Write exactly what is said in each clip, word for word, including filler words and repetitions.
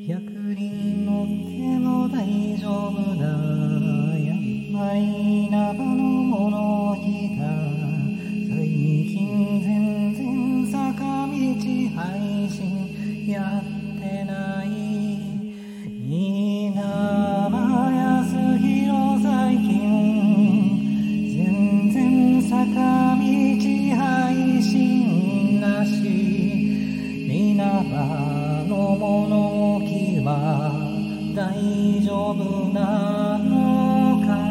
百人乗っても大丈夫だ。やっぱりナバのもの来た。最近全然坂道配信やってない。稲葉康弘最近全然坂道配信なし。稲葉の物置は大丈夫なのか。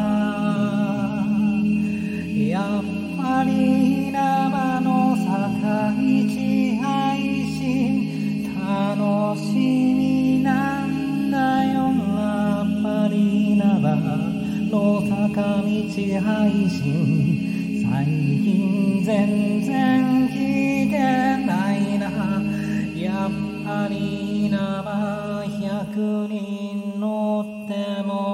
やっぱり稲葉の坂道配信楽しみなんだよ。やっぱり稲葉の坂道配信最近全然来てないな。やっぱり稲葉百人乗っても